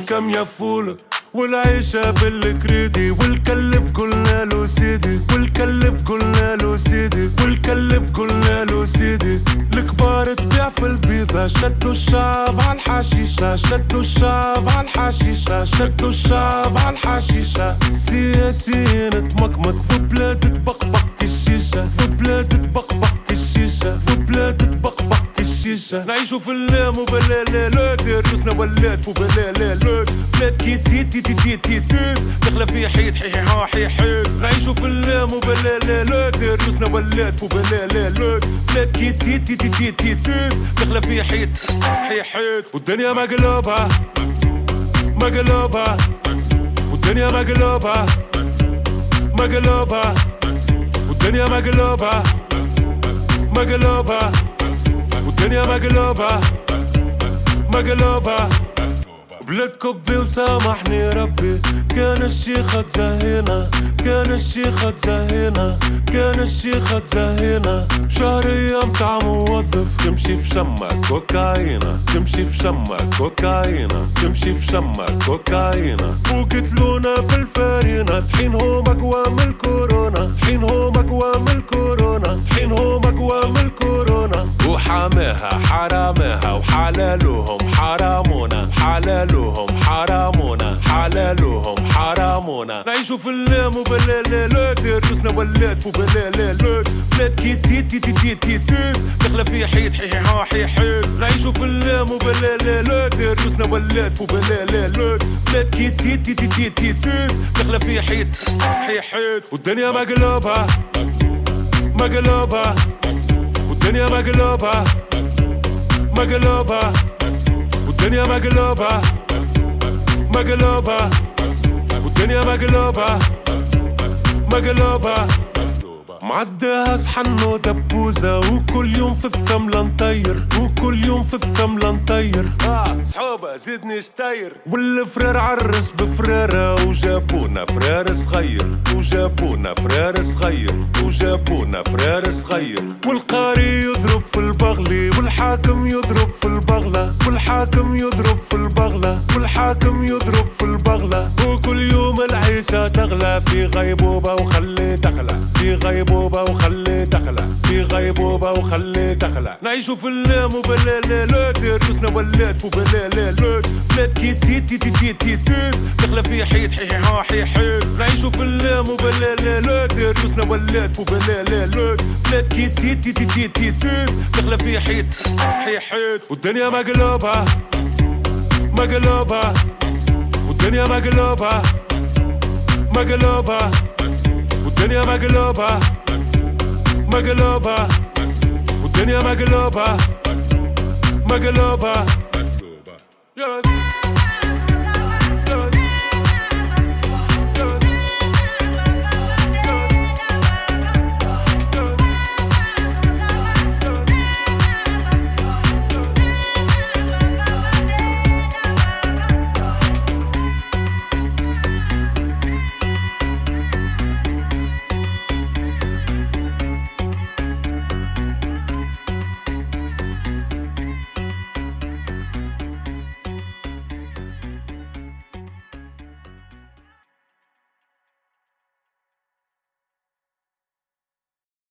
والكم يفول والعيشة بالكريدي والكلف قلنا له سيدي والكلف قلنا له سيدي والكلف قلنا له سيدي. الكبار تبيع في البيضة شدوا الشعب على الحشيشة شدوا الشعب على الحشيشة شدوا الشعب على الحشيشة. سياسيين تمكمك في بلاد تبقبق الشيشة في بلاد تبقبق الشيشة في بلاد تبقبق الشيشة. نعيشو في اللام وبلالالات ريوسنا ولات وبلالالات بلاد كي تيت تيت تيت تيت تيت داخلة في حيط حيحا حيحيت. نعيشو في اللام وبلالالات ريوسنا ولات وبلالالات بلاد كي تيت تيت تيت تيت تيت داخلة في حيط حيحيت. والدنيا مقلوبة مقلوبة والدنيا مقلوبة مقلوبة والدنيا مقلوبة مقلوبة والدنيا مقلوبة مقلوبة. بلاد كبي وسامحني ربي كان الشيخة تزهينا كان الشيخة تزهينا كان الشيخة تزهينا. شهر ايام تاع موظف تمشي في شمك كوكاينا تمشي في شمك كوكاينا تمشي في شمك كوكاينا. وقتلونا بالفارينة طحين هما قوام الكورونا طحين هما قوام الكورونا طحين هما قوام الكورونا. وحاماها حراماها وحلالوهم حرامونا حلالوهم حرامونا حلالوهم حرامونا. نعيشو في اللام وبلالالات ريوسنا ولات وبلالالات بلاد كي تيت تيت تيت تيت تيت داخلة في حيط حيحا حيحيت. نعيشو في اللام وبلالالات ريوسنا ولات وبلالالات بلاد كي تيت تيت تيت تيت تيت داخلة في حيط حيحيت. والدنيا مقلوبة مقلوبة والدنيا مقلوبة مقلوبة والدنيا مقلوبة مقلوبة والدنيا مقلوبة مقلوبة. معديها صحن ودبوزة وكل يوم في الثملة نطير وكل يوم في الثملة نطير. صحوبة زيدني شطير. والفرار عرس بفرارة وجابونا فرار صغير وجابونا فرار صغير وجابونا فرار صغير. والقاري يضرب في البغلي والحاكم يضرب في البغلة والحاكم يضرب في البغلة والحاكم يضرب في البغلة. وكل يوم العيشة تغلى في غيبوبة وخلي تخلى في غيبوبة وخلي تخلى في غيبوبة وخلي تخلى. نعيشو في اللام وبلالالات ريوسنا ولات وبلالالات بلاد كي تيت تيت تيت تيت تيت داخلة في حيط حيحا حيحيت. نعيشو في اللام وبلالالات ريوسنا ولات وبلالالات بلاد كي تيت تيت تيت تيت تيت داخلة في حيط حيحيت. والدنيا مقلوبة مقلوبة والدنيا مقلوبة مقلوبة والدنيا مقلوبة مقلوبة والدنيا مقلوبة مقلوبة.